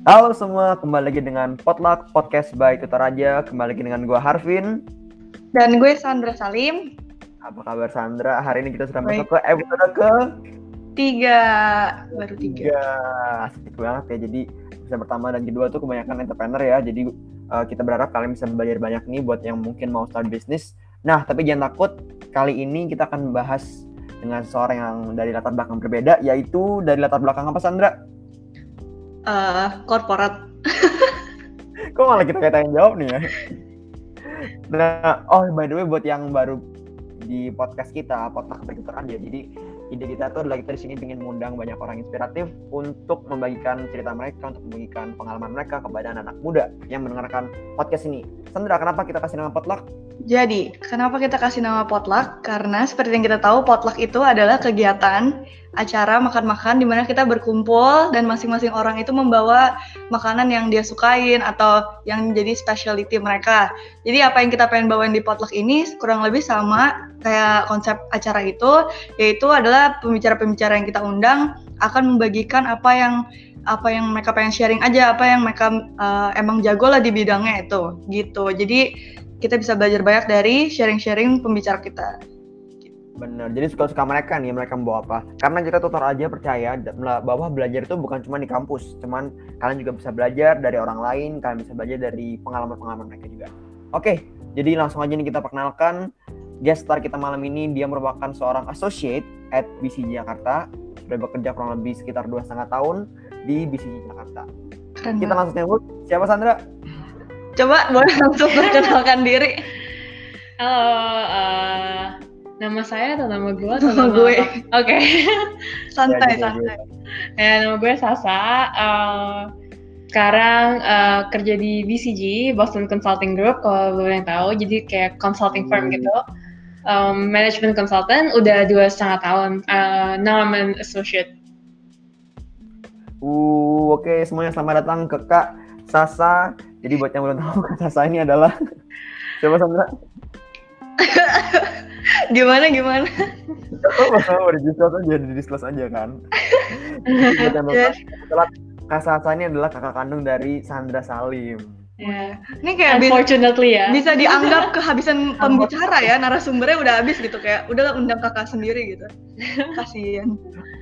Halo semua, kembali lagi dengan Potluck Podcast by Tutor Aja. Kembali lagi dengan gue Harvin. Dan gue Sandra Salim. Apa kabar Sandra? Hari ini kita sudah Baik. masuk ke episode ke 3. Baru 3. Asik banget ya. Jadi episode pertama dan kedua tuh kebanyakan entrepreneur ya. Jadi kita berharap kalian bisa belajar banyak nih buat yang mungkin mau start bisnis. Nah, tapi jangan takut. Kali ini kita akan membahas dengan seorang yang dari latar belakang berbeda, yaitu dari latar belakang apa Sandra? Korporat. Kok malah kita yang jawab nih ya? Nah, by the way buat yang baru di podcast kita, Potluck by Tutor Aja. Jadi ide kita tuh adalah kita di sini ingin mengundang banyak orang inspiratif untuk membagikan cerita mereka, untuk membagikan pengalaman mereka kepada anak muda yang mendengarkan podcast ini. Sandra, kenapa kita kasih nama Potluck? Jadi, kenapa kita kasih nama Potluck? Karena seperti yang kita tahu, Potluck itu adalah kegiatan acara makan-makan di mana kita berkumpul dan masing-masing orang itu membawa makanan yang dia sukain atau yang jadi specialty mereka. Jadi apa yang kita pengen bawain di Potluck ini kurang lebih sama kayak konsep acara itu, yaitu adalah pembicara-pembicara yang kita undang akan membagikan apa yang mereka pengen sharing aja, apa yang mereka emang jago lah di bidangnya itu, gitu. Jadi kita bisa belajar banyak dari sharing-sharing pembicara kita. Bener, jadi suka-suka mereka nih, mereka membawa apa. Karena kita tutor aja percaya bahwa belajar itu bukan cuma di kampus, cuman kalian juga bisa belajar dari orang lain, kalian bisa belajar dari pengalaman-pengalaman mereka juga. Oke, jadi langsung aja nih kita perkenalkan guest star kita malam ini. Dia merupakan seorang associate at BCG Jakarta, sudah bekerja kurang lebih sekitar 2,5 tahun di BCG Jakarta. Keren Kita langsung nyebut, siapa Sandra? Coba boleh langsung perkenalkan diri. Halo, nama saya atau nama gue atau nama gue? Oke. Santai. Ya, nama gue Sasa. Sekarang kerja di BCG, Boston Consulting Group, kalau lo yang tahu. Jadi kayak consulting firm gitu. Management consultant, udah 2,5 tahun. Now I'm an associate. Oke, semuanya selamat datang ke Kak Sasa. Jadi buat yang belum tahu, Kak Sasa ini adalah siapa Sandra? Gimana? Mau di-disclose aja kan. Kak Sasa ini adalah kakak kandung dari Sandra Salim. Ya. Ini kayak unfortunately bisa dianggap kehabisan pembicara ya, narasumbernya udah habis gitu, kayak udahlah undang kakak sendiri gitu. Kasian.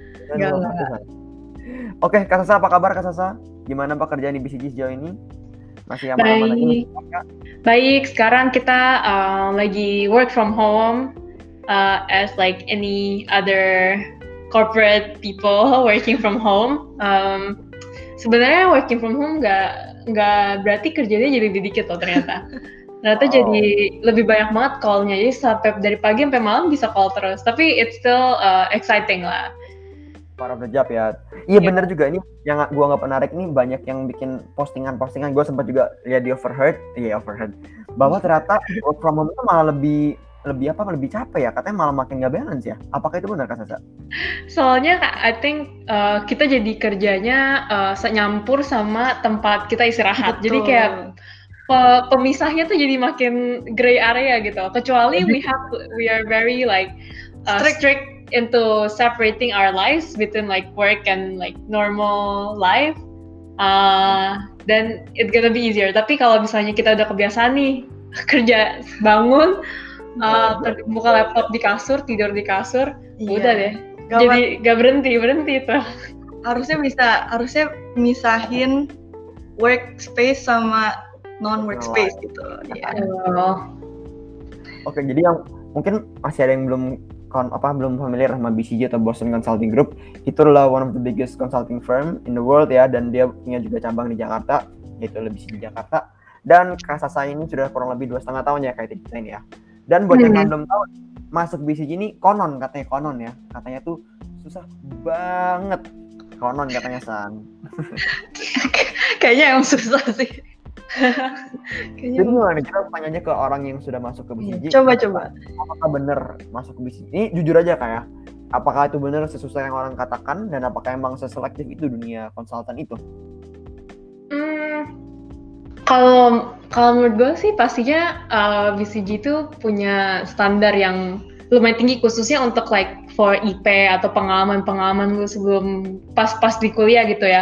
Oke, Kak Sasa, apa kabar Kak Sasa? Gimana pekerjaan di BCG sejauh ini? Masih aman-aman lagi? Baik, sekarang kita lagi work from home as like any other corporate people working from home. Sebenarnya working from home nggak berarti kerjanya jadi dikit loh ternyata. Ternyata jadi lebih banyak banget call-nya, jadi sampai dari pagi sampai malam bisa call terus. Tapi it's still exciting lah. Part of the job ya. Iya bener juga, ini yang gue nggak menarik nih, banyak yang bikin postingan. Gue sempat juga lihat di overheard bahwa ternyata work from home itu malah lebih capek ya, katanya malah makin nggak balance ya. Apakah itu benar Kak Sasa? Soalnya I think kita jadi kerjanya nyampur sama tempat kita istirahat. Betul. Jadi kayak pemisahnya tuh jadi makin gray area gitu. Kecuali we are very like strict into separating our lives between like work and like normal life, then it's gonna be easier. Tapi kalau misalnya kita udah kebiasaan nih kerja, bangun, buka laptop di kasur, tidur di kasur, udah deh. Jadi gak berhenti tuh. Harusnya misahin workspace sama non workspace gitu. Yeah. Oke, jadi yang mungkin masih ada yang belum familiar sama BCG atau Boston Consulting Group, itu adalah one of the biggest consulting firm in the world ya, dan dia punya juga cabang di Jakarta, yaitu BCG Jakarta. Dan Kak Sasa ini sudah kurang lebih 2,5 tahun ya kayak kita ini ya. Dan buat yang belum tahu, masuk BCG ini katanya tuh susah banget, katanya San. Kayaknya emang susah sih. Jadi gimana, kita tanya aja ke orang yang sudah masuk ke BCG. Coba. Apakah benar masuk ke BCG? Ini jujur aja kayak, apakah itu benar sesusah yang orang katakan, dan apakah emang seselektif itu dunia konsultan itu? Kalau menurut gue sih pastinya BCG itu punya standar yang lumayan tinggi, khususnya untuk like for IP atau pengalaman lu sebelum pas di kuliah gitu ya.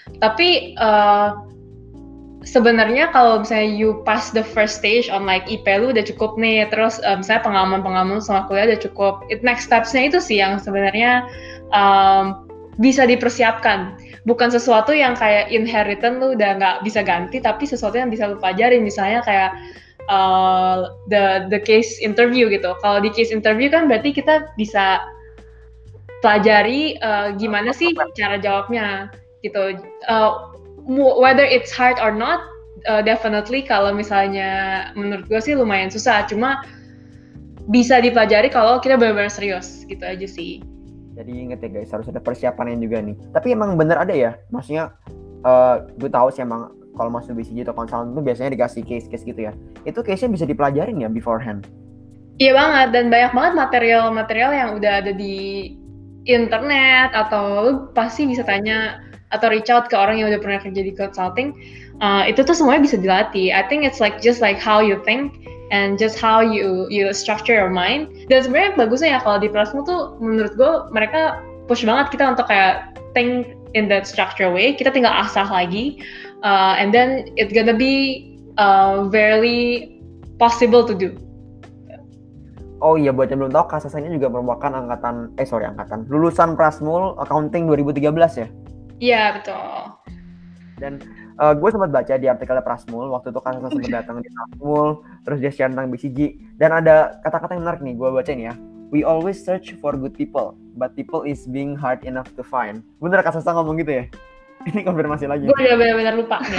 Tapi sebenarnya kalau misalnya you pass the first stage on like IP lu udah cukup nih, terus misalnya pengalaman sama kuliah udah cukup, next steps-nya itu sih yang sebenarnya bisa dipersiapkan. Bukan sesuatu yang kayak inheritance lu udah nggak bisa ganti, tapi sesuatu yang bisa lu pelajarin, misalnya kayak the case interview gitu. Kalau di case interview kan berarti kita bisa pelajari gimana sih cara jawabnya gitu. Whether it's hard or not, definitely kalau misalnya menurut gue sih lumayan susah, cuma bisa dipelajari kalau kita benar-benar serius gitu aja sih. Jadi inget ya guys, harus ada persiapannya juga nih. Tapi emang bener ada ya, maksudnya gue tahu sih emang kalau masuk BCG atau konsultan itu biasanya dikasih case-case gitu ya. Itu case-nya bisa dipelajarin ya beforehand? Iya banget, dan banyak banget material-material yang udah ada di internet, atau lu pasti bisa tanya atau reach out ke orang yang udah pernah kerja di consulting. Itu tuh semuanya bisa dilatih. I think it's like just like how you think and just how you structure your mind. Dan sebenarnya bagusnya ya kalau di Prasmu tuh menurut gue mereka push banget kita untuk kayak think in that structure way. Kita tinggal asah lagi, and then it's gonna be very possible to do. Oh iya, buat yang belum tahu, Kak Sasanya juga merupakan lulusan Prasmul Accounting 2013 ya? Iya, betul. Dan gue sempat baca di artikelnya Prasmul, waktu itu Kak Sasa sempat datang di Prasmul, terus dia share tentang BCG, dan ada kata-kata yang menarik nih, gue bacain ya. We always search for good people, but people is being hard enough to find. Bener Kak Sasa ngomong gitu ya? Ini konfirmasi lagi. Gue udah benar-benar lupa nih.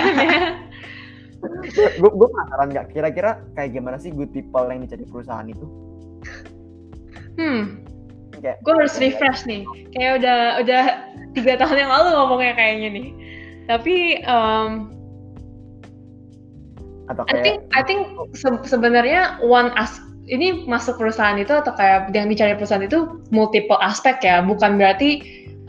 Gue penasaran nggak, kira-kira kayak gimana sih good people yang dicari perusahaan itu? Gue harus refresh nih. Kayak udah 3 tahun yang lalu ngomongnya kayaknya nih. Tapi I think sebenarnya ini masuk perusahaan itu atau kayak yang dicari perusahaan itu multiple aspek ya. Bukan berarti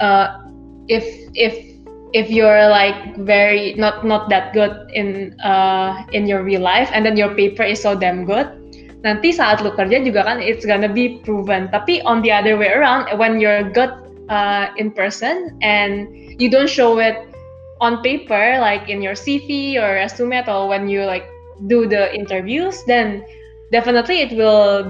if you're like very not that good in your real life and then your paper is so damn good, nanti saat lu kerja juga kan it's gonna be proven. Tapi on the other way around, when you're good in person and you don't show it on paper like in your CV or resume, atau when you like do the interviews, then definitely it will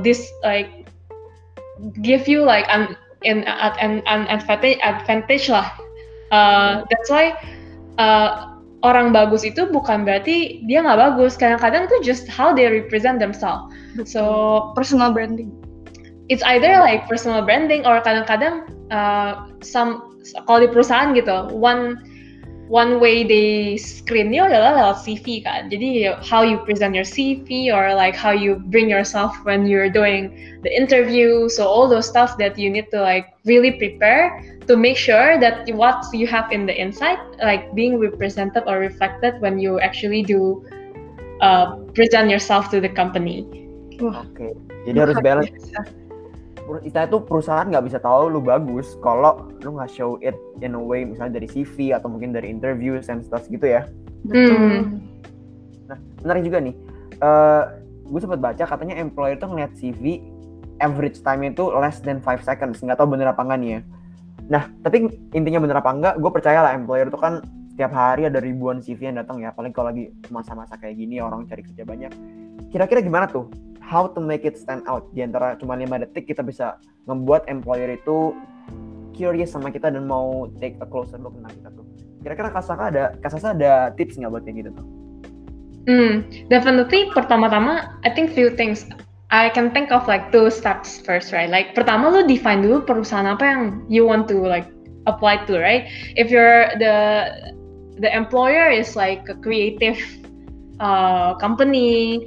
give you like an advantage lah. That's why orang bagus itu bukan berarti dia nggak bagus. Kadang-kadang tuh just how they represent themselves. So personal branding. It's either like personal branding or kadang-kadang kalau di perusahaan gitu, one way they screen you adalah lewat CV kan. Jadi how you present your CV or like how you bring yourself when you're doing the interview. So all those stuff that you need to like really prepare to make sure that what you have in the inside like being represented or reflected when you actually do present yourself to the company. Oke. Jadi harus balance. Istilahnya tuh perusahaan nggak bisa tahu lu bagus kalau lu nggak show it in a way, misalnya dari CV atau mungkin dari interview and stuff gitu ya. Betul. Nah, menarik juga nih. Gue sempat baca katanya employer tuh ngeliat CV average time itu less than 5 seconds. Nggak tahu bener apa enggak nih ya. Nah, tapi intinya bener apa enggak, gue percaya lah employer tuh kan setiap hari ada ribuan CV yang datang ya. Apalagi kalau lagi masa-masa kayak gini orang cari kerja banyak. Kira-kira gimana tuh? How to make it stand out? Di antara cuma 5 detik kita bisa membuat employer itu curious sama kita dan mau take a closer look tentang kita tuh. Kira-kira Kak Sasa ada tips nggak buat kayak gitu tuh? Definitely pertama-tama I think few things. I can think of like 2 steps first, right? Like pertama lu define dulu perusahaan apa yang you want to like apply to, right? If you're the employer is like a creative company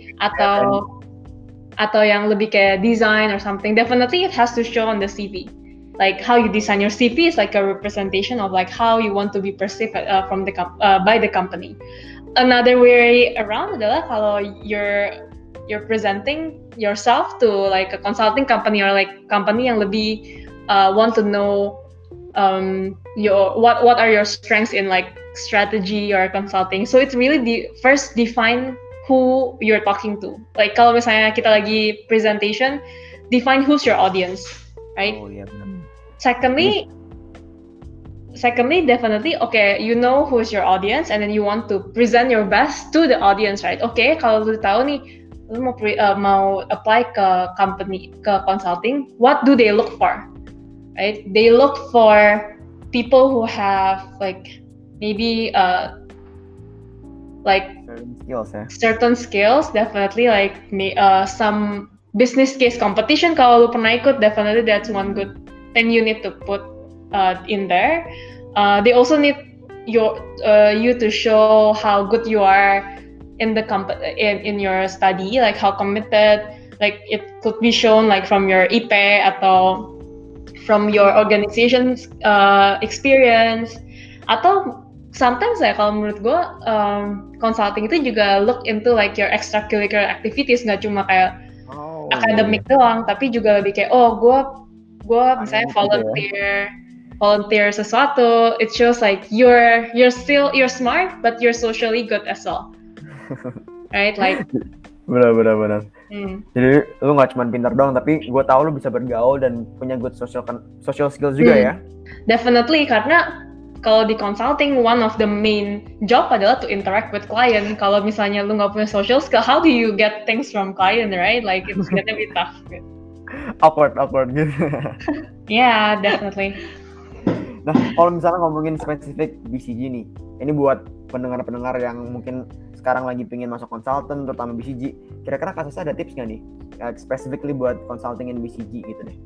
atau yang lebih kayak design or something, definitely it has to show on the CV. Like how you design your CV is like a representation of like how you want to be perceived by the company. Another way around adalah kalau you're presenting yourself to like a consulting company or like company yang lebih want to know what are your strengths in like strategy or consulting. So it's really first define who you're talking to. Like kalau misalnya kita lagi presentation, define who's your audience, right? Oh iya benar. Secondly, secondly, definitely, okay, you know who's your audience, and then you want to present your best to the audience, right? Okay, kalau lu tahu nih, lu mau apply ke company, ke consulting, what do they look for, right? They look for people who have like maybe like certain skills, definitely like some business case competition. Kalau lu pernah ikut, definitely that's one good thing you need to put in there. They also need you to show how good you are in the in your study, like how committed. Like it could be shown like from your IP atau from your organization's experience, atau sometimes ya kalau menurut gue consulting itu juga look into like your extracurricular activities, nggak cuma kayak akademik doang, tapi juga lebih kayak gue misalnya volunteer sesuatu. It shows like you're smart but you're socially good as well, right? Like benar. Jadi lu nggak cuma pintar doang, tapi gue tahu lu bisa bergaul dan punya good social skills juga ya. Definitely, karena kalau di consulting, one of the main job adalah to interact with client. Kalau misalnya lu nggak punya social skill, how do you get things from client, right? Like it's gonna be tough. Awkward gitu. Yeah, definitely. Nah, kalau misalnya ngomongin spesifik BCG nih, ini buat pendengar-pendengar yang mungkin sekarang lagi pengen masuk konsultan, terutama BCG, kira-kira Kasasa ada tips nggak nih, specifically buat consulting in BCG gitu deh?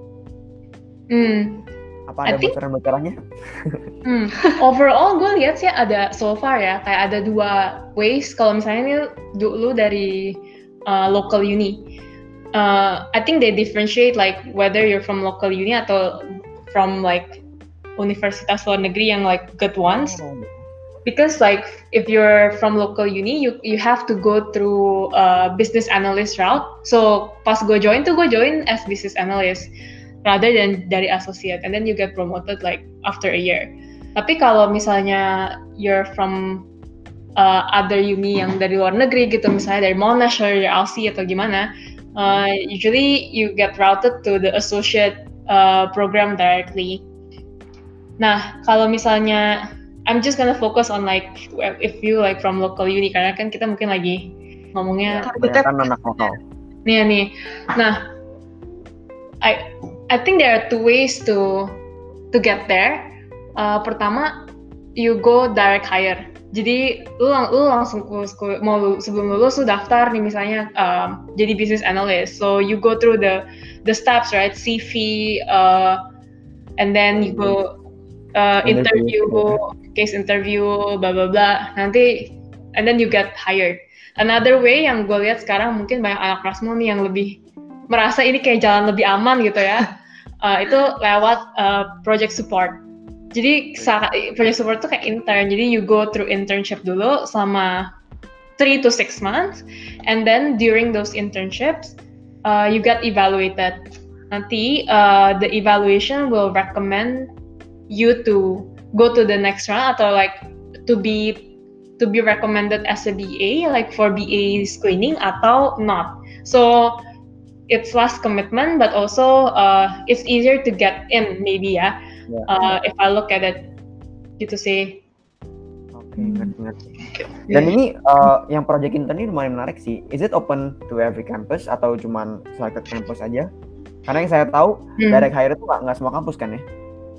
Apa ada bocoran-bocorannya? Overall gue lihat sih ada so far ya, kayak ada 2 ways. Kalau misalnya ini dulu dari local uni, I think they differentiate like whether you're from local uni atau from like universitas luar negeri yang like good ones. Because like if you're from local uni, you have to go through business analyst route. So pas gue join as business analyst rather than dari associate, and then you get promoted like after a year. Tapi kalau misalnya you're from other uni yang dari luar negeri gitu, misalnya dari Monash atau dari LC atau gimana, usually you get routed to the associate program directly. Nah, kalau misalnya I'm just gonna focus on like if you like from local uni, karena kan kita mungkin lagi ngomongnya anak lokal. Nih. Nah, I think there are 2 ways to get there. Pertama, you go direct hire. Jadi lu langsung mau sebelum lulus lu daftar nih misalnya jadi business analyst. So you go through the steps, right? CV, and then you go interview, case interview, blah blah blah. Nanti and then you get hired. Another way yang gue lihat sekarang mungkin banyak anak Rasmo nih yang lebih merasa ini kayak jalan lebih aman gitu ya. Itu lewat project support. Jadi project support itu kayak intern. Jadi you go through internship dulu selama 3 to 6 months, and then during those internships you get evaluated. Nanti the evaluation will recommend you to go to the next round atau like to be recommended as a BA, like for BA screening atau not. So it's less commitment, but also it's easier to get in maybe ya. If I look at it gitu sih. Oke, ngerti. Dan ini yang project intern ini lumayan menarik sih. Is it open to every campus atau cuman selected campus aja? Karena yang saya tahu direct hire itu nggak semua kampus kan ya?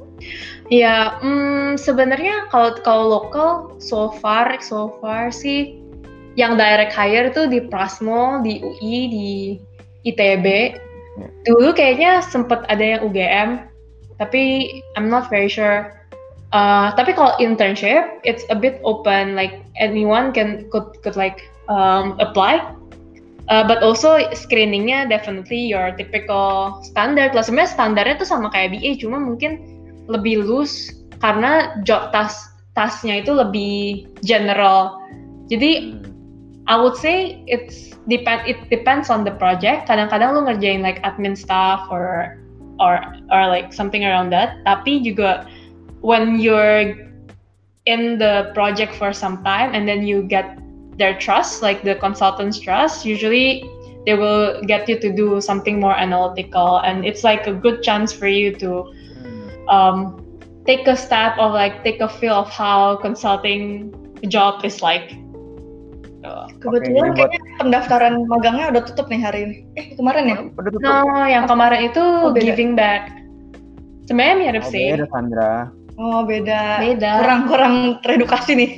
Ya, sebenarnya kalau lokal so far sih yang direct hire itu di Prasmo, di UI, di ITB. Dulu kayaknya sempet ada yang UGM, tapi I'm not very sure. Tapi kalau internship, it's a bit open, like anyone could like apply. But also screeningnya definitely your typical standard lah. Sebenarnya standarnya tuh sama kayak BA, cuma mungkin lebih loose karena job tasnya itu lebih general. Jadi I would say it depends on the project. Kadang-kadang lu ngerjain like admin stuff or like something around that. Tapi juga when you're in the project for some time and then you get their trust, like the consultant's trust, usually they will get you to do something more analytical, and it's like a good chance for you to take a step of like take a feel of how consulting job is like. Kebetulan jadi buat- kayaknya pendaftaran magangnya udah tutup nih hari ini. Kemarin ya? Udah tutup. No, yang kemarin itu Oh, beda. giving back. Sebenarnya mirip Oh, sih. beda Sandra. Oh beda. Beda. Kurang teredukasi nih.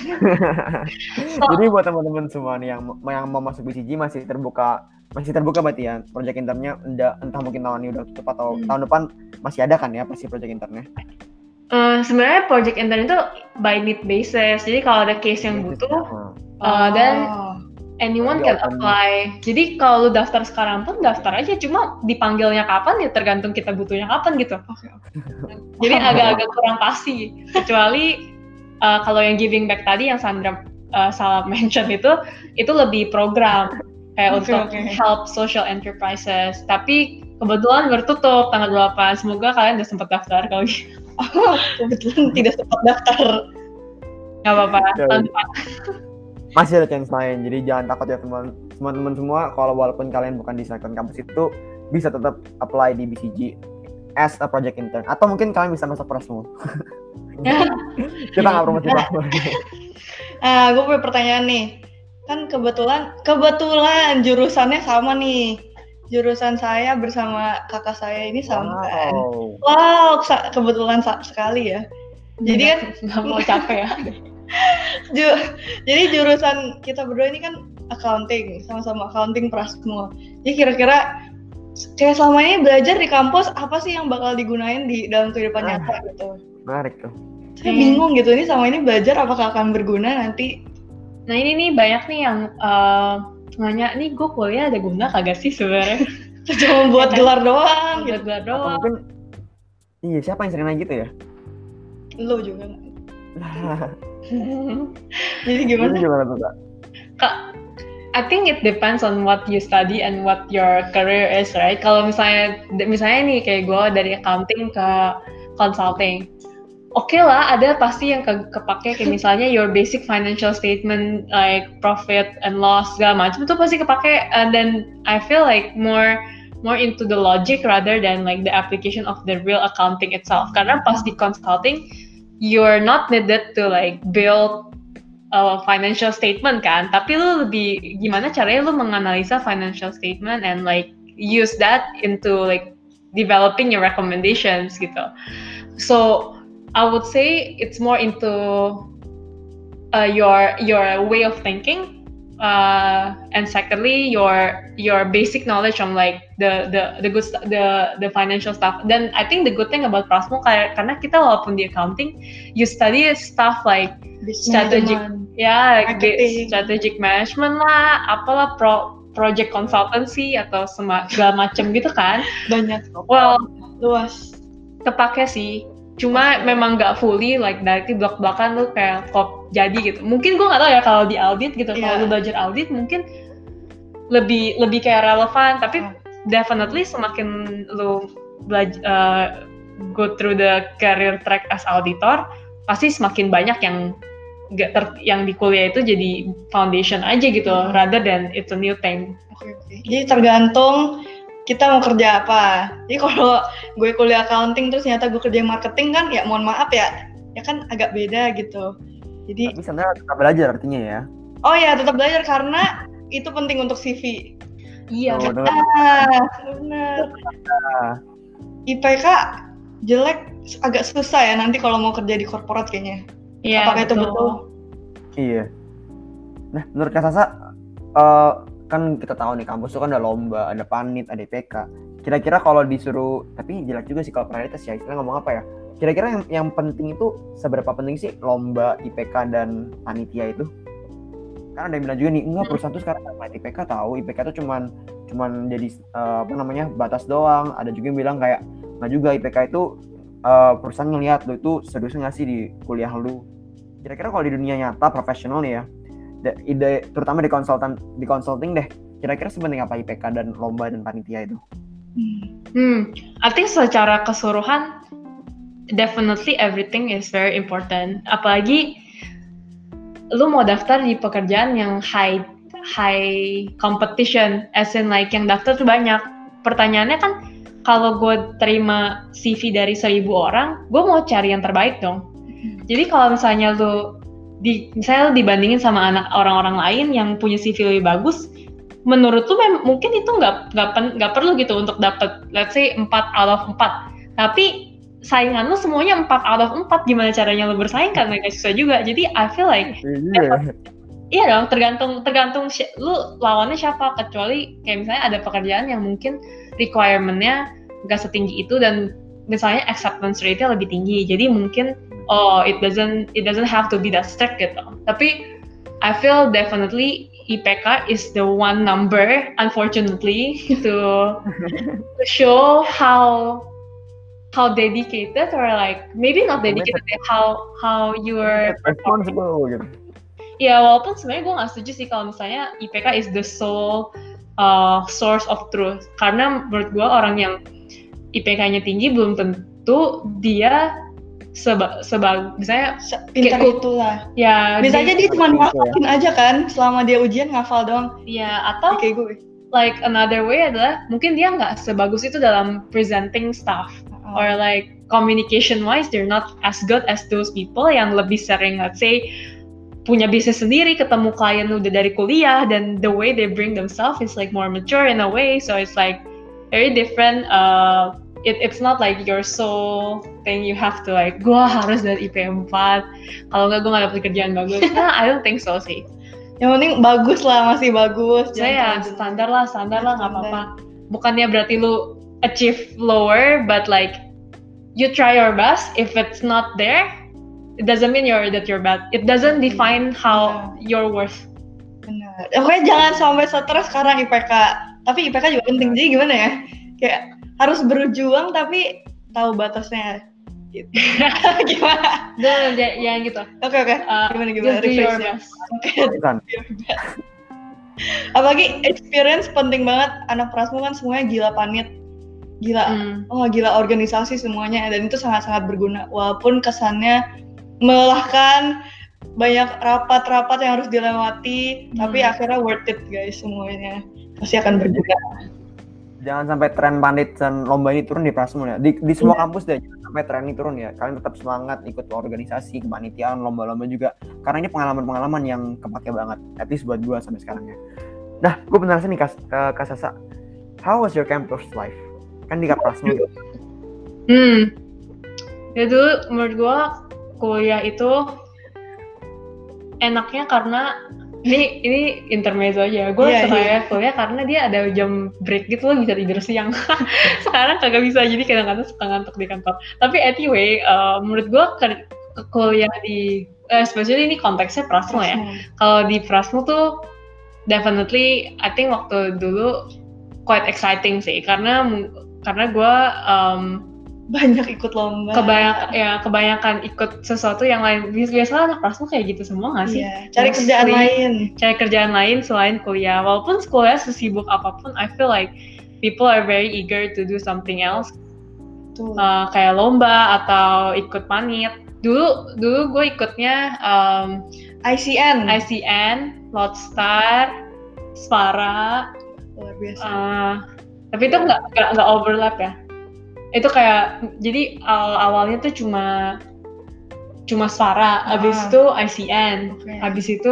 Jadi buat teman-teman semua nih yang mau masuk BCG masih terbuka berarti ya project internnya entah mungkin tahun ini udah tutup atau tahun depan masih ada kan ya pasti project internnya. Sebenarnya project intern itu by need basis. Jadi kalau ada case yang butuh, dan anyone can apply. Jadi kalau lu daftar sekarang pun daftar aja. Cuma dipanggilnya kapan ya tergantung kita butuhnya kapan gitu. Jadi agak-agak kurang pasti. Kecuali kalau yang giving back tadi yang Sandra salah mention itu lebih program kayak untuk help social enterprises. Tapi kebetulan bertutup tanggal 8. Semoga kalian udah sempat daftar kalau gitu. Kebetulan tidak sempat daftar. Gak apa-apa. Masih ada chance lain, jadi jangan takut ya teman-teman semua. Kalau walaupun kalian bukan di Silicon Campus itu bisa tetap apply di BCG as a project intern, atau mungkin kalian bisa masuk Prasmo. Kita nggak promosi Prasmo. Gue punya pertanyaan nih. Kan kebetulan jurusannya sama nih. Jurusan saya bersama kakak saya ini sama kan. Wow, kebetulan sekali ya. Jadi kan nggak mau capek ya. Jadi jurusan kita berdua ini kan accounting, sama-sama accounting Prasmo. Jadi kira-kira kayak selama ini belajar di kampus apa sih yang bakal digunain di dalam kehidupan nyata gitu? Menarik tuh. Saya bingung gitu, ini sama ini belajar apakah akan berguna nanti? Nah ini nih banyak nih yang nanya nih gue kuliah ada guna kagak sih sebenarnya? Cuma buat gelar doang. Buat gelar Atau doang. mungkin iya siapa yang sering nanya gitu ya? Lo juga. Jadi gimana? Itu gimana tuh Kak? I think it depends on what you study and what your career is, right? Kalau misalnya nih kayak gue dari accounting ke consulting, oke lah, ada pasti yang kepake kayak misalnya your basic financial statement like profit and loss segala macam itu pasti kepake, and then I feel like more into the logic rather than like the application of the real accounting itself. Karena pas di consulting you're not needed to like build a financial statement kan, tapi lu lebih gimana caranya lu menganalisa financial statement and like use that into like developing your recommendations gitu. So I would say it's more into your way of thinking, and secondly your basic knowledge on like the financial stuff. Then I think the good thing about Prasmo karena kita walaupun di accounting, you study stuff like strategic management lah, apalah project consultancy atau segala macam gitu kan. Banyak. Well, luas. Kepake sih. Cuma memang nggak fully like dari blok-blokan lu kayak kok jadi gitu. Mungkin gue nggak tahu ya kalau di audit gitu. Kalau lu belajar audit mungkin lebih kayak relevan. Tapi definitely semakin lu belajar go through the career track as auditor, pasti semakin banyak yang di kuliah itu jadi foundation aja gitu, rather than it's a new thing. Jadi tergantung kita mau kerja apa. Jadi kalau gue kuliah accounting terus ternyata gue kerja marketing kan, ya mohon maaf ya kan agak beda gitu. Jadi tapi sebenarnya tetap belajar artinya ya. Oh ya, tetap belajar karena itu penting untuk CV. Iya. Benar. IPK jelek agak susah ya nanti kalau mau kerja di korporat kayaknya. Iya. Apakah itu betul? Iya. Nah, menurut Kak Sasa, kan kita tahu nih kampus itu kan ada lomba, ada panit, ada IPK. Kira-kira kalau disuruh, tapi jelek juga sih kalau prioritas ya, istilah ngomong apa ya? Kira-kira yang penting itu seberapa penting sih lomba, IPK dan panitia itu? Karena ada yang bilang juga nih, enggak perusahaan tuh sekarang nggak IPK tahu, IPK tuh cuman jadi batas doang. Ada juga yang bilang kayak nggak juga, IPK itu perusahaan ngelihat lu itu serius nggak sih di kuliah lu. Kira-kira kalau di dunia nyata profesional nih ya, terutama di consulting deh, kira-kira sepenting apa IPK dan lomba dan panitia itu? I think secara keseluruhan definitely everything is very important. Apalagi lu mau daftar di pekerjaan yang high competition, as in like yang daftar tuh banyak. Pertanyaannya kan kalau gue terima CV dari 1.000 orang, gue mau cari yang terbaik dong. Jadi kalau misalnya misalnya dibandingin sama orang-orang lain yang punya CV lebih bagus, menurut lu mungkin itu nggak perlu gitu untuk dapat let's say 4 out of 4. Tapi saingan lu semuanya 4 out of 4, gimana caranya lu bersaing kan mereka susah juga. Jadi I feel like iya dong, tergantung lu lawannya siapa, kecuali kayak misalnya ada pekerjaan yang mungkin requirement-nya nggak setinggi itu dan misalnya acceptance rate-nya lebih tinggi. Jadi mungkin it doesn't have to be that strict gitu. Tapi I feel definitely IPK is the one number, unfortunately, to show how dedicated, or like maybe not dedicated, how you're responsible gitu. Ya walaupun sebenarnya gue nggak setuju sih kalau misalnya IPK is the sole source of truth, karena menurut gue orang yang IPK-nya tinggi belum tentu dia misalnya pintar itulah. Ya, bisa aja dia cuma ngafalin aja kan selama dia ujian ngafal doang. Ya, atau kayak gue. Like another way adalah mungkin dia nggak sebagus itu dalam presenting stuff, or like communication wise they're not as good as those people yang lebih sering, let's say, punya bisnis sendiri, ketemu klien udah dari kuliah, dan the way they bring themselves is like more mature in a way, so it's like very different. It's not like your sole thing you have to like, gue harus dari IP 4, kalau nggak gue nggak dapet kerjaan bagus. Nah, I don't think so sih. Yang penting bagus lah, masih bagus. Saya standar lah nggak apa-apa. Bukannya berarti lu achieve lower, but like you try your best. If it's not there, it doesn't mean that you're bad. It doesn't define how you're worth. Benar. Pokoknya jangan sampai stres sekarang IPK. Tapi IPK juga penting. Jadi gimana ya? Kayak harus berjuang tapi tahu batasnya. Gitu. Gimana? Jangan gitu. Oke. Gimana? Just do your best. Apalagi experience penting banget. Anak Prasmu kan semuanya gila panit. Gila organisasi semuanya, dan itu sangat-sangat berguna. Walaupun kesannya melelahkan, banyak rapat-rapat yang harus dilewati, tapi akhirnya worth it guys, semuanya pasti akan berguna. Jangan sampai tren panit dan lomba ini turun di Prasmu ya. Di semua kampus deh, jangan sampai tren ini turun ya. Kalian tetap semangat ikut organisasi, kepanitiaan, lomba-lomba juga. Karena ini pengalaman-pengalaman yang kepake banget, at least buat gue sampai sekarang ya. Nah, gue penasaran nih Kak Sasa, how was your campus life? Kan di Prasmu gitu. Ya dulu menurut gue kuliah itu enaknya karena ini intermezzo aja. Gue suka kuliah karena dia ada jam break gitu, lo bisa tidur siang. Sekarang kagak bisa, jadi kadang-kadang suka ngantuk di kantor. Tapi anyway, menurut gue kuliah di especially ini konteksnya Prasmu ya. Kalau di Prasmu tuh definitely I think waktu dulu quite exciting sih, karena gue banyak ikut lomba. Kebanyakan ikut sesuatu yang lain. Biasanya anak Prasmu kayak gitu semua nggak sih? Iya, cari kerjaan lain selain kuliah. Walaupun kuliah sesibuk apapun, I feel like people are very eager to do something else. Kayak lomba atau ikut panit. Dulu gue ikutnya ICN, Lotstar, Spara. Luar biasa. Tapi itu nggak overlap ya. Itu kayak, jadi awalnya tuh cuma Spara, abis itu ICN, abis itu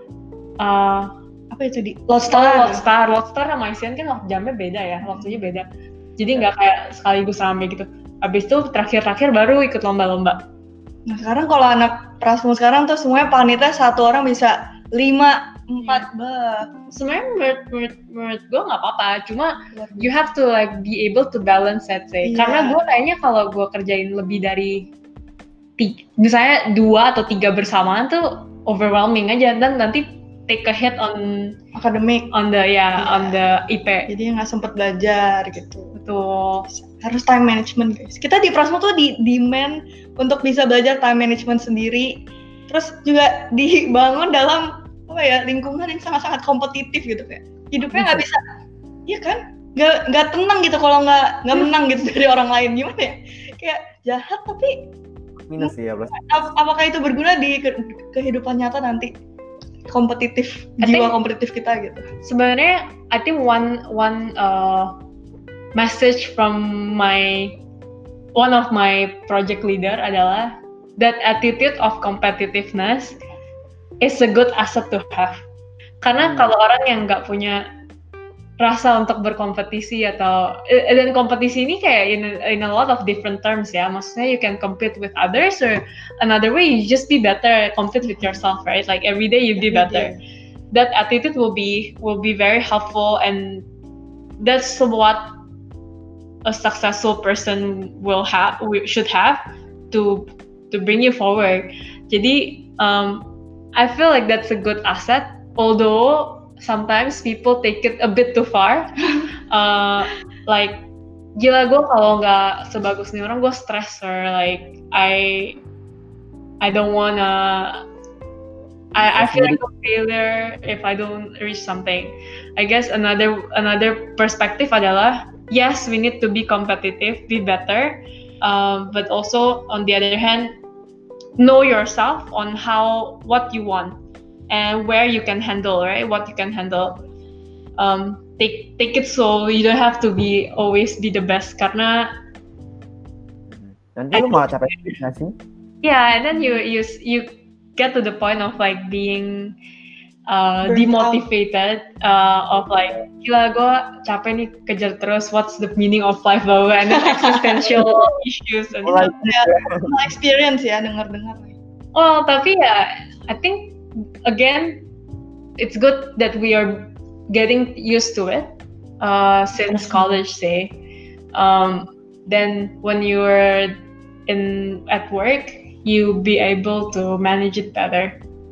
apa itu di Lotstar sama ICN kan jamnya beda ya, waktunya beda. Jadi nggak kayak sekaligus rame gitu. Abis itu terakhir baru ikut lomba-lomba. Nah sekarang kalau anak Prasmu sekarang tuh semuanya panitnya satu orang bisa 5-4 Sebenarnya menurut gue nggak apa-apa, cuma you have to like be able to balance it sih. Karena gue kayaknya kalau gue kerjain lebih dari misalnya 2 atau 3 bersamaan tuh overwhelming aja, dan nanti take a hit on academic, on the IP. Jadi nggak sempet belajar gitu. Betul. Harus time management guys. Kita di Prasmu tuh demand untuk bisa belajar time management sendiri. Terus juga dibangun dalam lingkungan yang sangat-sangat kompetitif gitu, kayak hidupnya nggak bisa, iya kan, nggak tenang gitu kalau nggak menang gitu dari orang lain. Gimana ya, kayak jahat tapi minus ya bos. Apakah itu berguna di kehidupan nyata nanti, jiwa kompetitif kita gitu? Sebenarnya I think one message from one of my project leader adalah that attitude of competitiveness is a good asset to have. Karena kalau orang yang nggak punya rasa untuk berkompetisi atau dan kompetisi ini kayak in a lot of different terms ya, maksudnya you can compete with others or another way you just be better, compete with yourself, right? Like every day you be better. That attitude will be very helpful, and that's what a successful person should have to bring you forward. Jadi I feel like that's a good asset, although sometimes people take it a bit too far. Like gila gue kalau nggak sebagus nih orang gue stress, or like I don't wanna I feel like a failure if I don't reach something. I guess another perspective adalah yes, we need to be competitive, be better, but also on the other hand, know yourself on what you want and where you can handle, right? What you can handle. Take it slow. You don't have to always be the best, karena nanti lu malah capek nggak sih? Yeah, and then you get to the point of like being demotivated, of like gila gue capek nih kejar terus, what's the meaning of life, blah, and then existential issues and experience ya, dengar-dengar. Well, tapi ya I think again it's good that we are getting used to it since college, say. Then when you're at work, you be able to manage it better.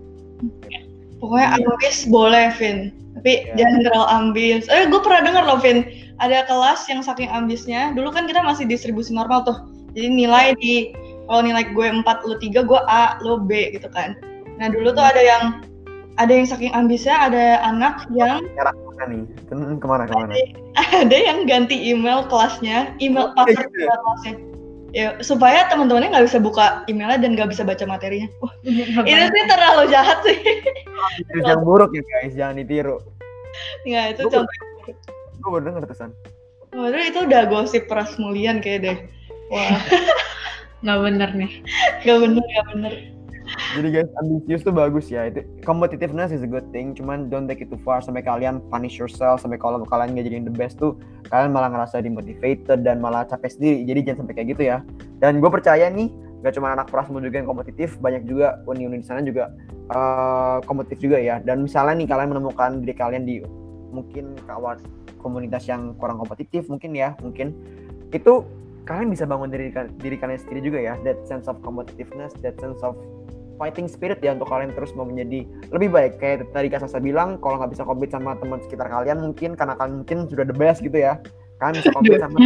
Pokoknya ambis boleh, Vin, tapi jangan terlalu ambis. Gue pernah dengar loh, Vin, ada kelas yang saking ambisnya. Dulu kan kita masih distribusi normal tuh, jadi nilai kalau nilai gue 4, lo 3, gue A, lo B gitu kan. Nah dulu tuh ada yang saking ambisnya, ada anak yang kemana? Ada yang ganti email kelasnya, email password kelasnya, ya supaya teman-temannya nggak bisa buka emailnya dan nggak bisa baca materinya. Itu sih terlalu jahat sih. Itu yang buruk ya guys, jangan ditiru. Nggak, itu contoh. Gue baru denger terusan. Waduh, itu udah gosip Pras Mulian kayak deh. Wah, nggak bener nih. Nggak bener. Jadi guys, ambisius tuh bagus ya. Itu competitiveness is a good thing. Cuman don't take it too far sampai kalian punish yourself, sampai kalau kalian nggak jadi the best tuh kalian malah ngerasa demotivated dan malah capek sendiri. Jadi jangan sampai kayak gitu ya. Dan gue percaya nih, gak cuma anak Prasmul juga yang kompetitif, banyak juga uni-uni di sana juga kompetitif juga ya. Dan misalnya nih kalian menemukan diri kalian di mungkin kawan komunitas yang kurang kompetitif mungkin itu kalian bisa bangun diri kalian sendiri juga ya. That sense of competitiveness, that sense of fighting spirit ya, untuk kalian terus mau menjadi lebih baik. Kayak tadi Kak Sasa bilang, kalau nggak bisa compete sama teman sekitar kalian mungkin karena kalian mungkin sudah the best gitu ya, kalian bisa compete sama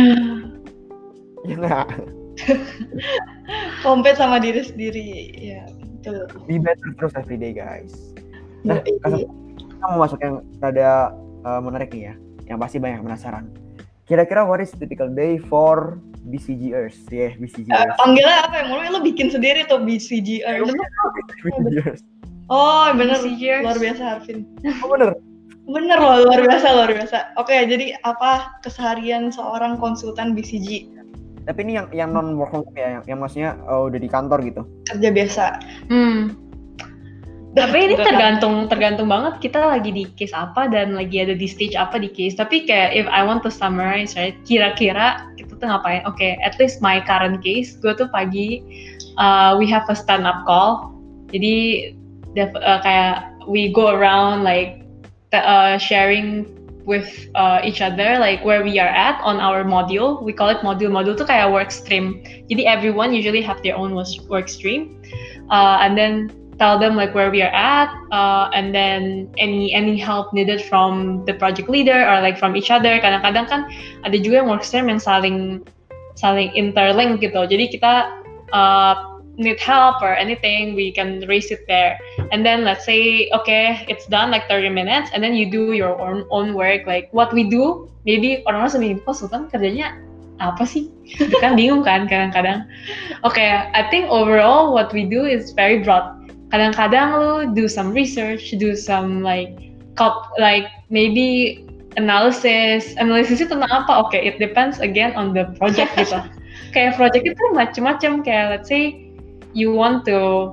ya nggak? Compete sama diri sendiri ya, betul. Be better terus everyday guys. Nah, Kak Sasa, kita mau masuk yang rada menarik nih ya, yang pasti banyak penasaran. Kira-kira what is typical day for BCGers? Ya, BCGers. Panggilnya apa ya? Mulai lo bikin sendiri tuh BCGers. Oh, bener. BCGers. Luar biasa, Harvin. Oh, bener. Bener loh, luar biasa. Oke, jadi apa keseharian seorang konsultan BCG? Tapi ini yang non work from home ya, yang maksudnya udah di kantor gitu. Kerja biasa. Tapi ini tergantung banget kita lagi di case apa dan lagi ada di stage apa di case. Tapi kayak if I want to summarize, right, kira-kira kita tuh ngapain? Oke, at least my current case, gue tuh pagi we have a stand up call. Jadi kayak we go around like sharing with each other like where we are at on our module. We call it module. Module tuh kayak work stream. Jadi everyone usually have their own work stream, and then tell them like where we are at, and then any help needed from the project leader or like from each other. Kadang-kadang kan ada juga yang work stream yang saling interlink gitu. Jadi kita need help or anything, we can raise it there. And then let's say okay, it's done like 30 minutes, and then you do your own work. Like what we do, maybe orang-orang seminggu konsultan kerjanya apa sih? Kan bingung kan kadang-kadang. Okay, I think overall what we do is very broad. Kadang-kadang lu do some research, do some like maybe analysis itu tentang apa? Oke, it depends again on the project gitu. Kayak project itu macam-macam, kayak let's say you want to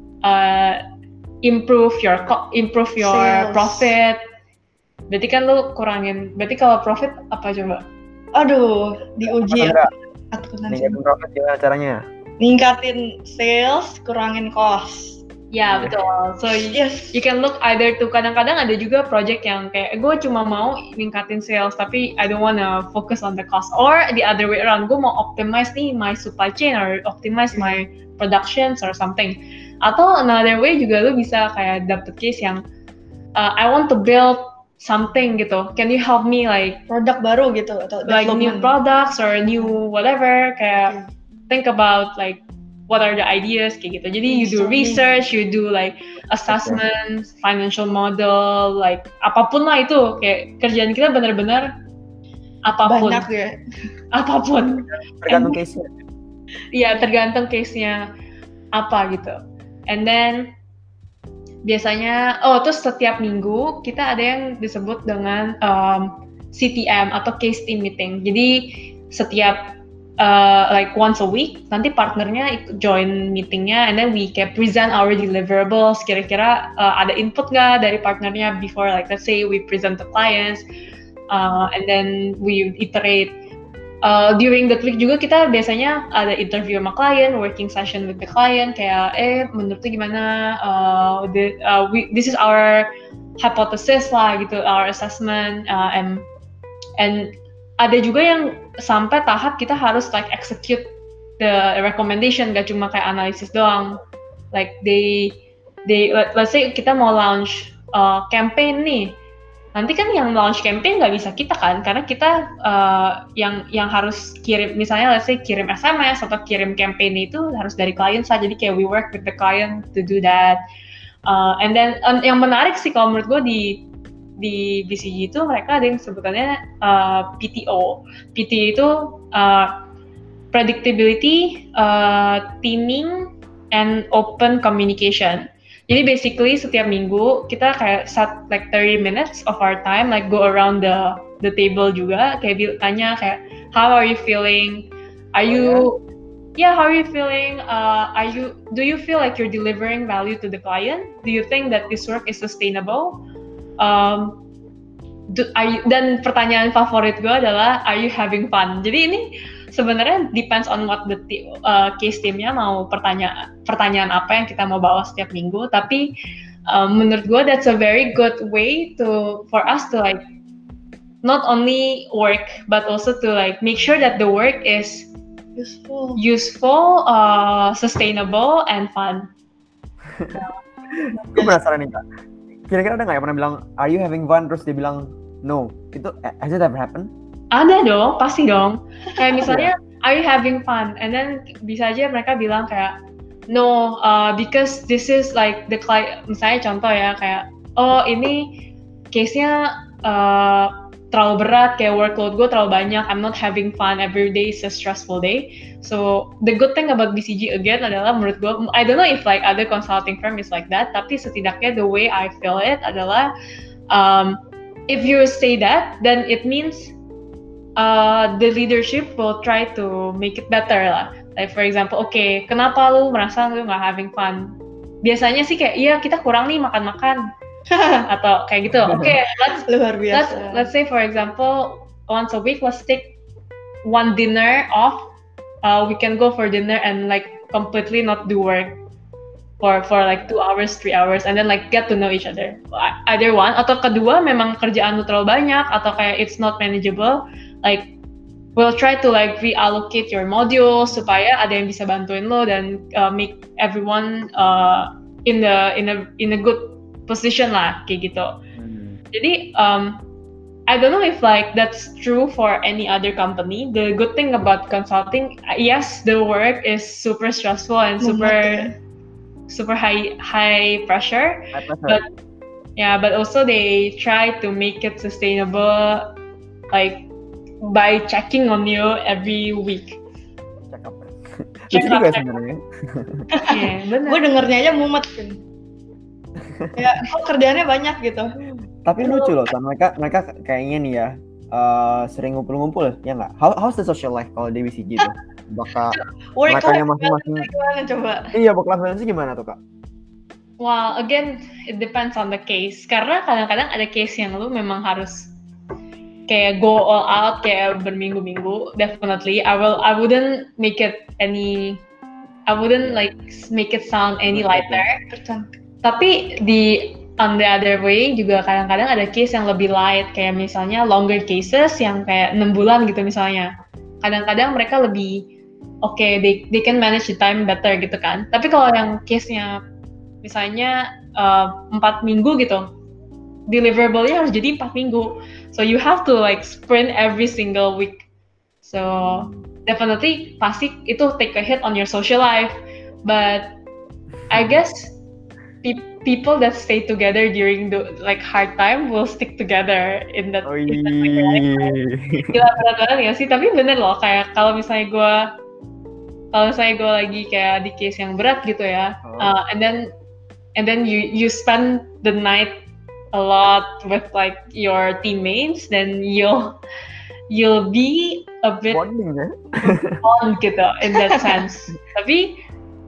improve your Sales. profit. Berarti kan lu kurangin. Berarti kalau profit apa coba? Aduh, diuji ya. Ningkatin profit gimana caranya? Ningkatin sales, kurangin cost. Ya betul. So Yes. you can look either to, kadang-kadang ada juga project yang kayak gue cuma mau ningkatin sales tapi I don't wanna focus on the cost, or the other way around, gue mau optimize nih my supply chain or optimize my productions or something. Atau another way juga lu bisa kayak dapet case yang I want to build something gitu, can you help me like Produk baru gitu atau like new development. products or new whatever, kayak think about like what are the ideas kayak gitu. Jadi you do research, you do like assessments, financial model, like apapun lah itu, kayak kerjaan kita benar-benar apapun. Banyak ya. Apapun. Tergantung case-nya. Iya, tergantung case-nya apa gitu. And then biasanya, terus setiap minggu kita ada yang disebut dengan CTM atau case team meeting. Jadi setiap like once a week, nanti partnernya join meetingnya, and then we can present our deliverables. Kira-kira ada input nggak dari partnernya before, like let's say we present to clients, and then we iterate. During the click juga kita biasanya ada interview sama klien, working session with the client, kayak menurut tuh gimana, this is our hypothesis lah gitu, our assessment, and ada juga yang sampai tahap kita harus like execute the recommendation, gak cuma kayak analisis doang. Like let's say kita mau launch campaign nih, nanti kan yang launch campaign nggak bisa kita kan, karena kita yang harus kirim, misalnya let's say kirim SMS atau kirim campaign itu harus dari klien saja. Jadi kayak we work with the client to do that. And then yang menarik sih kalau menurut gue di BCG itu mereka ada yang sebutannya PTO. PT itu predictability, teaming, and open communication. Jadi basically setiap minggu kita kayak set like 30 minutes of our time, like go around the table juga, kayak tanya kayak how are you feeling? Are you how are you feeling? Do you feel like you're delivering value to the client? Do you think that this work is sustainable? Dan pertanyaan favorit gue adalah are you having fun? Jadi ini sebenarnya depends on what the case teamnya mau pertanyaan apa yang kita mau bawa setiap minggu. Tapi menurut gue that's a very good way for us to like not only work but also to like make sure that the work is useful, sustainable, and fun. Gue penasaran nih Kak, kira-kira ada nggak yang pernah bilang are you having fun terus dia bilang no? Itu has it ever happened? Ada dong, pasti dong. Kayak misalnya are you having fun? And then bisa aja mereka bilang kayak no, because this is like the client. Misalnya contoh ya, kayak ini case-nya terlalu berat, kayak workload gue terlalu banyak, I'm not having fun, every day is a stressful day. So the good thing about BCG again adalah menurut gue, I don't know if like other consulting firm is like that, tapi setidaknya the way I feel it adalah if you say that, then it means the leadership will try to make it better lah. Like for example, okay, kenapa lu merasa lu nggak having fun? Biasanya sih kayak iya kita kurang nih makan-makan atau kayak gitu. Okay, let's say for example once a week let's take one dinner off. We can go for dinner and like completely not do work for like 2 hours, 3 hours, and then like get to know each other. Either one, atau kedua memang kerjaan lu terlalu banyak atau kayak it's not manageable, like we'll try to like reallocate your modules supaya ada yang bisa bantuin lo dan make everyone in a good position lah kayak gitu. Jadi I don't know if like that's true for any other company. The good thing about consulting, yes, the work is super stressful and super high pressure. But also they try to make it sustainable, like by checking on you every week. Check up. Sebenarnya. Gue dengernya aja mumet kan. Ya, kerjaannya banyak gitu. Tapi lucu loh, San. Mereka kayaknya nih ya sering ngumpul-ngumpul ya nggak? How's the social life kalau di BCG tuh? Bakal Work mereka life yang masing-masing. gimana coba? Iya, work life balance gimana tuh, Kak? Well, again, it depends on the case. Karena kadang-kadang ada case yang lu memang harus kayak go all out kayak berminggu-minggu. Definitely, I wouldn't make it like make it sound any lighter. Tapi on the other way juga kadang-kadang ada case yang lebih light, kayak misalnya longer cases yang kayak 6 bulan gitu misalnya. Kadang-kadang mereka lebih they can manage the time better gitu kan. Tapi kalau yang case-nya misalnya 4 minggu gitu, deliverable-nya harus jadi 4 minggu. So you have to like sprint every single week. So definitely pasti itu take a hit on your social life. But I guess people that stay together during the like hard time will stick together in that. Gila berat banget ya sih, tapi bener loh kayak kalau misalnya gue lagi kayak di case yang berat gitu ya, and then you spend the night a lot with like your teammates, then you'll be a bit bond gitu in that sense. Tapi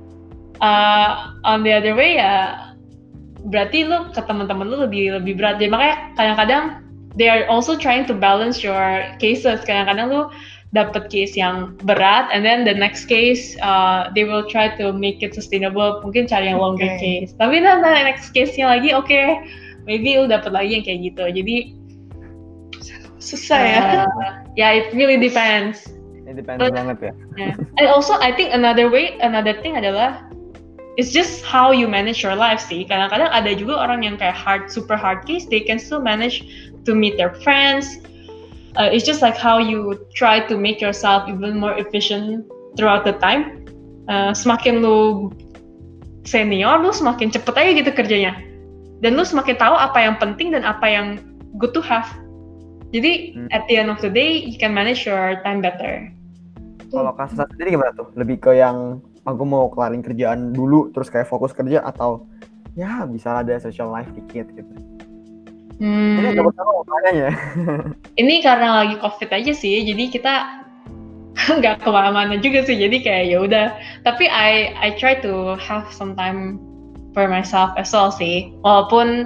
on the other way ya berarti lu ke teman-teman lu lebih berat. Jadi makanya kadang-kadang they are also trying to balance your cases. Kadang-kadang lu dapet case yang berat, and then the next case they will try to make it sustainable. Mungkin cari yang longer case. Tapi nanti next case-nya lagi maybe lu dapet lagi yang kayak gitu. Jadi susah ya. Yeah, it really depends. It depends banget ya. Yeah. And also I think another thing adalah it's just how you manage your life sih. Kadang-kadang ada juga orang yang kayak super hard case, they can still manage to meet their friends. It's just like how you try to make yourself even more efficient throughout the time. Semakin lu senior, lu semakin cepet aja gitu kerjanya. Dan lu semakin tahu apa yang penting dan apa yang good to have. Jadi at the end of the day, you can manage your time better. Kalau Kak Sasa sendiri gimana tuh? Lebih ke yang aku mau kelarin kerjaan dulu terus kayak fokus kerja, atau ya bisa ada social life dikit gitu. Ini agak bersama makanya. Ini karena lagi COVID aja sih, jadi kita nggak kemana-mana juga sih, jadi kayak ya udah. Tapi I try to have some time for myself as well sih, walaupun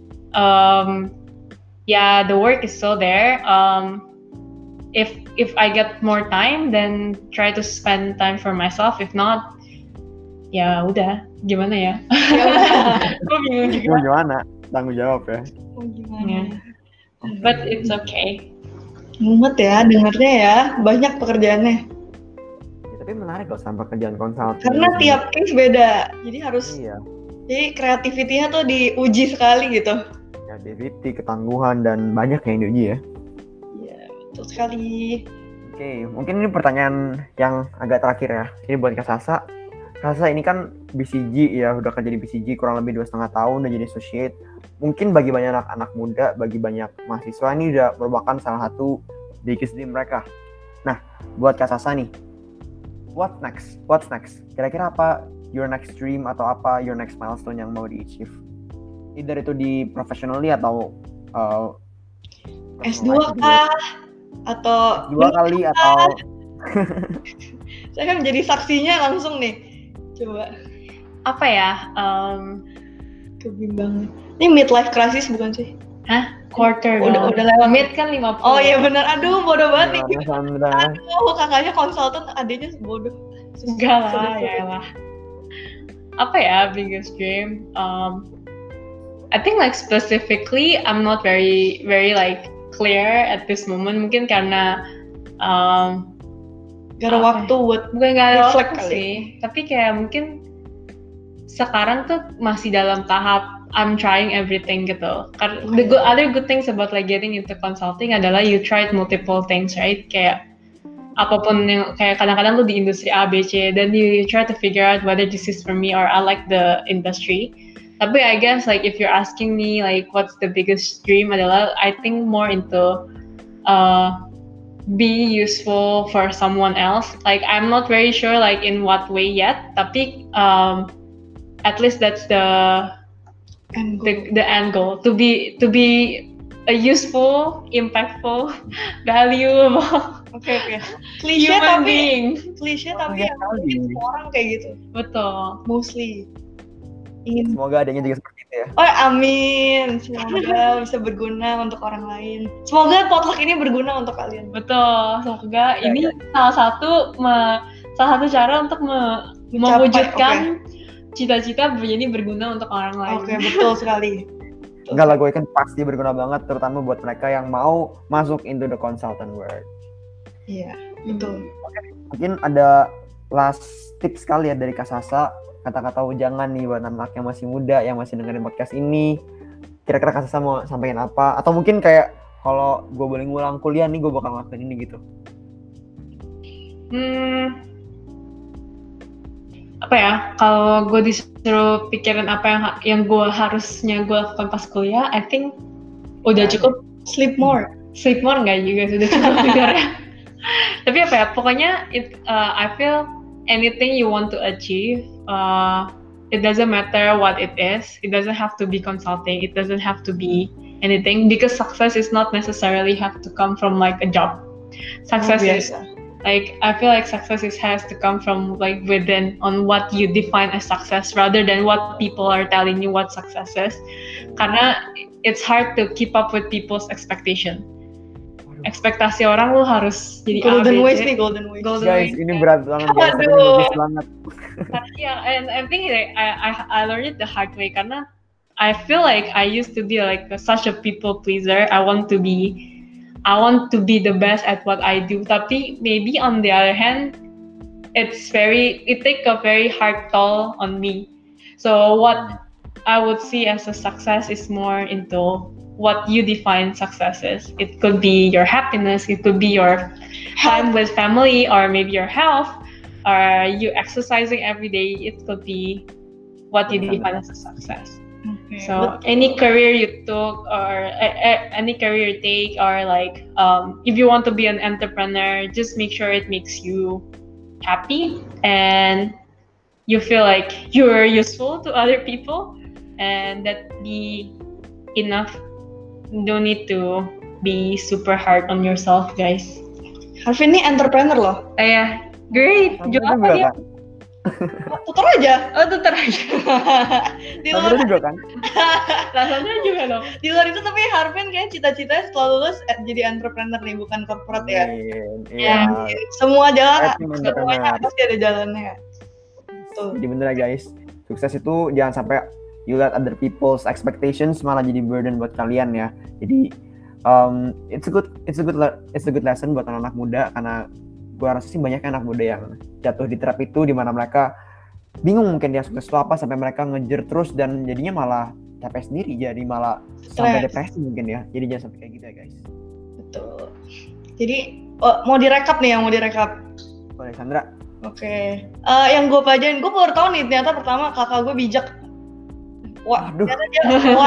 the work is still there. If I get more time, then try to spend time for myself. If not, ya udah, gimana ya? Gue bingung juga. Gimana? Tanggung jawab ya. Gimana? Yeah. But it's okay. Mumet ya, dengarnya ya, banyak pekerjaannya. Ya, tapi menarik loh sama pekerjaan konsultan. Karena tiap case beda, jadi harus. Iya. Jadi kreativitinya tuh diuji sekali gitu. Kreativiti, ketangguhan, dan banyak yang diuji ya. Betul sekali. Oke, mungkin ini pertanyaan yang agak terakhir ya. Ini buat Kak Sasa. Kak Sasa ini kan BCG ya, udah kerja di BCG kurang lebih 2,5 tahun, udah jadi associate. Mungkin bagi banyak anak muda, bagi banyak mahasiswa ini udah merupakan salah satu biggest dream mereka. Nah, buat Kak Sasa nih, what's next? Kira-kira apa your next dream atau apa your next milestone yang mau di-achieve? Either itu di professionally atau S2 kah? Atau dua kali atau saya kan menjadi saksinya langsung nih. Coba apa ya? Kebimbangan. Ini midlife crisis bukan sih? Hah? Quarter udah lewat. Mid kan 50. Oh iya benar. Aduh bodoh banget nih. Sandra. Aduh kakaknya konsultan, adiknya bodoh. Enggak lah, ya lah. Apa ya biggest dream? I think like specifically I'm not very like clear at this moment, mungkin karena gak ada waktu buat bukan gak ada reflect waktu kali. sih, tapi kayak mungkin sekarang tuh masih dalam tahap I'm trying everything gitu. The other good things about like getting into consulting adalah you tried multiple things, right? Kayak apapun yang kayak kadang-kadang lu di industri A, B, C, then you try to figure out whether this is for me or I like the industry. Tapi I guess like if you're asking me like what's the biggest dream adalah I think more into be useful for someone else. Like I'm not very sure like in what way yet. Tapi at least that's the And the end goal to be a useful, impactful, valuable Oke. Klise human tapi being. Iya yang kali. mungkin semua orang kayak gitu. Betul. Mostly ingin. Semoga adanya juga seperti itu ya. Oh amin. Semoga bisa berguna untuk orang lain. Semoga potluck ini berguna untuk kalian. Betul. Semoga Ya, ini salah satu cara untuk mewujudkan cita-cita menjadi berguna untuk orang lain. Oke, betul sekali. Enggak lah, gue kan pasti berguna banget, terutama buat mereka yang mau masuk into the consultant world. Iya, betul. Mungkin ada last tips kali ya dari Kak Sasa, kata-kata ujangan nih buat anak yang masih muda, yang masih dengerin podcast ini. Kira-kira Kak Sasa mau sampaikan apa? Atau mungkin kayak, kalau gue boleh ngulang kuliah nih, gue bakal ngelakuin ini gitu. Apa ya, kalau gue disuruh pikirin apa yang gue harusnya gue lakukan pas kuliah, I think udah cukup. Sleep more Nggak juga, sudah cukup tidur ya. Tapi apa ya, pokoknya I feel anything you want to achieve, it doesn't matter what it is. It doesn't have to be consulting. It doesn't have to be anything, because success is not necessarily have to come from like a job. Success is like, I feel like success has to come from like within, on what you define as success, rather than what people are telling you what success is. Karena it's hard to keep up with people's expectation. Ekspektasi orang lu harus jadi golden ways ABC. nih, golden ways. Guys, ini berat banget. Guys, tapi Aduh. bagus banget. Yeah, and I think I learned it the hard way, karena I feel like I used to be like such a people pleaser. I want to be the best at what I do. Tapi maybe on the other hand, it take a very hard toll on me. So what I would see as a success is more into what you define success is. It could be your happiness, it could be your time with family, or maybe your health, or you exercising every day. It could be what you define as a success. Okay. So any career you took, or any career you take, or like if you want to be an entrepreneur, just make sure it makes you happy and you feel like you're useful to other people, and that be enough. Don't need to be super hard on yourself, guys. Harvin ini entrepreneur loh. Great. Jual apa dia? Tutor aja. Oh, tutor aja. Di luar juga kan? Rasanya juga dong. Di luar itu tapi Harvin kayak cita-citanya setelah lulus jadi entrepreneur nih, bukan corporate ya. Iya. Semua jalan, semuanya pasti ada jalannya. Tuh. Jadi bener ya guys, sukses itu jangan sampai you let other people's expectations malah jadi burden buat kalian ya. Jadi it's a good lesson buat anak-anak muda, karena gua rasa sih banyak anak muda yang jatuh di trap itu, di mana mereka bingung mungkin dia sukses itu apa, sampai mereka ngejar terus dan jadinya malah capek sendiri, jadi malah sampai depresi mungkin ya. Jadi jangan sampai kayak gitu ya guys. Betul. Jadi mau direkap nih, yang mau direkap. Boleh Sandra? Oke. Yang gue pelajarin, gue baru tahu nih ternyata pertama kakak gue bijak. Wah, ternyata dia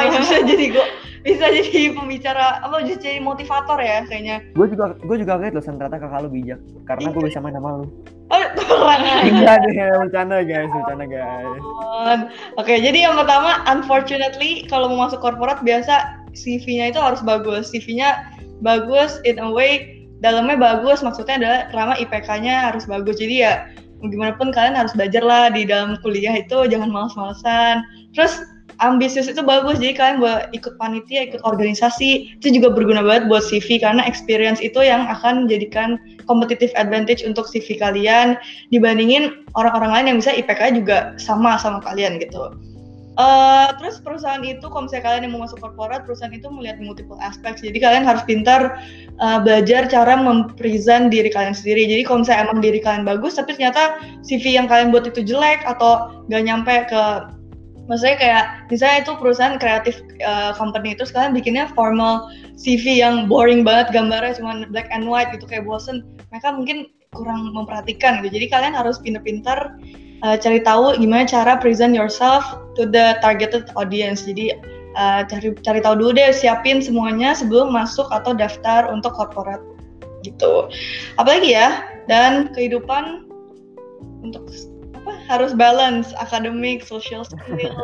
bisa jadi pembicara, bisa jadi motivator ya kayaknya. Gue juga kaget loh, ternyata kakak lu bijak, karena gue bisa main sama lu. Oh, kurang Enggak deh, bercanda guys. Oke, jadi yang pertama, unfortunately kalau mau masuk korporat biasa CV-nya itu harus bagus. CV-nya bagus in a way, dalamnya bagus, maksudnya adalah karena IPK-nya harus bagus. Jadi ya gimana pun kalian harus belajar lah di dalam kuliah itu, jangan malas-malasan. Terus ambisius itu bagus, jadi kalian buat ikut panitia, ikut organisasi, itu juga berguna banget buat CV, karena experience itu yang akan menjadikan competitive advantage untuk CV kalian dibandingin orang-orang lain yang bisa IPK juga sama kalian gitu. Terus perusahaan itu, kalau misalnya kalian yang mau masuk korporat, perusahaan itu melihat multiple aspects, jadi kalian harus pintar belajar cara mempresent diri kalian sendiri. Jadi kalau misalnya emang diri kalian bagus, tapi ternyata CV yang kalian buat itu jelek atau gak nyampe ke, maksudnya kayak misalnya itu perusahaan kreatif company itu sekalian bikinnya formal CV yang boring banget, gambarnya cuma black and white gitu, kayak bosen, mereka mungkin kurang memperhatikan gitu. Jadi kalian harus pintar-pintar cari tahu gimana cara present yourself to the targeted audience. Jadi cari tahu dulu deh, siapin semuanya sebelum masuk atau daftar untuk korporat gitu. Apalagi ya, dan kehidupan untuk harus balance akademik, social skills,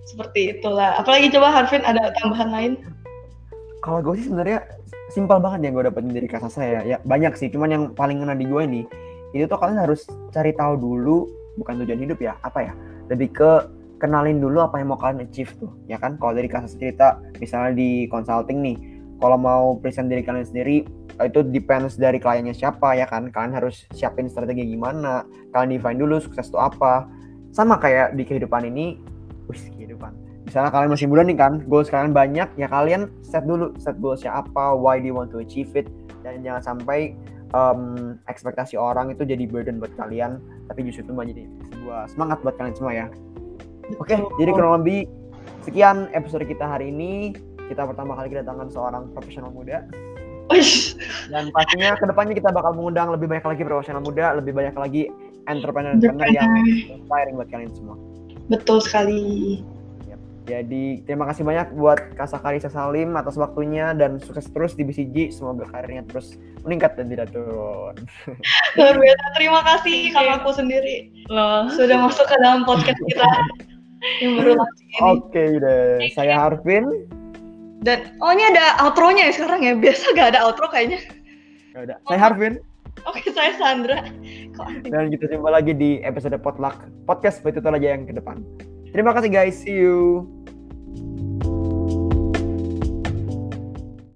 Seperti itulah. Apalagi coba Harvin ada tambahan lain? Kalau gue sih sebenarnya simpel banget yang gue dapetin dari kata saya. Ya banyak sih, cuman yang paling ngena di gue nih, itu tuh kalian harus cari tahu dulu, bukan tujuan hidup ya, apa ya? Lebih ke kenalin dulu apa yang mau kalian achieve tuh, ya kan? Kalau dari kasus cerita, misalnya di consulting nih, kalau mau present diri kalian sendiri, itu depends dari kliennya siapa, ya kan? Kalian harus siapin strategi gimana, kalian define dulu sukses itu apa. Sama kayak di kehidupan ini, kehidupan. Misalnya kalian masih muda nih kan, goals kalian banyak, ya kalian set goalsnya apa, why do you want to achieve it, dan jangan sampai ekspektasi orang itu jadi burden buat kalian, tapi justru itu menjadi sebuah semangat buat kalian semua ya. Oke, jadi kurang lebih sekian episode kita hari ini. Kita pertama kali kedatangan seorang profesional muda. Dan pastinya kedepannya kita bakal mengundang lebih banyak lagi profesional muda, lebih banyak lagi entrepreneur yang inspiring buat kalian semua. Betul sekali. Jadi terima kasih banyak buat Kak Sakarisa Salim atas waktunya dan sukses terus di BCG. Semoga karirnya terus meningkat dan tidak turun. Luar biasa. Terima kasih kalau aku sendiri sudah masuk ke dalam podcast kita yang baru launching ini. Oke deh, saya Harvin. Dan ini ada outro-nya ya sekarang ya. Biasa gak ada outro kayaknya. Ya udah, saya Harvin. Oke, saya Sandra. Dan kita jumpa lagi di episode Potluck Podcast Betul aja yang ke depan. Terima kasih guys, see you.